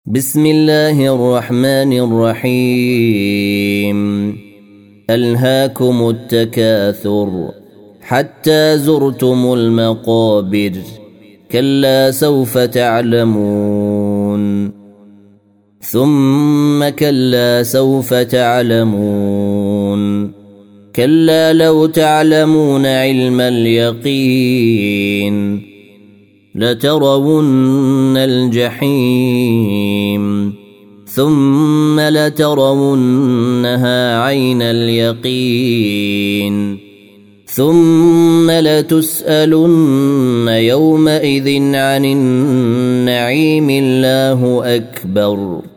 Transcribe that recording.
بسم الله الرحمن الرحيم ألهاكم التكاثر حتى زرتم المقابر كلا سوف تعلمون ثم كلا سوف تعلمون كلا لو تعلمون علم اليقين لترون الجحيم ثم لترونها عين اليقين ثم لتسألن يومئذ عن النعيم الله أكبر.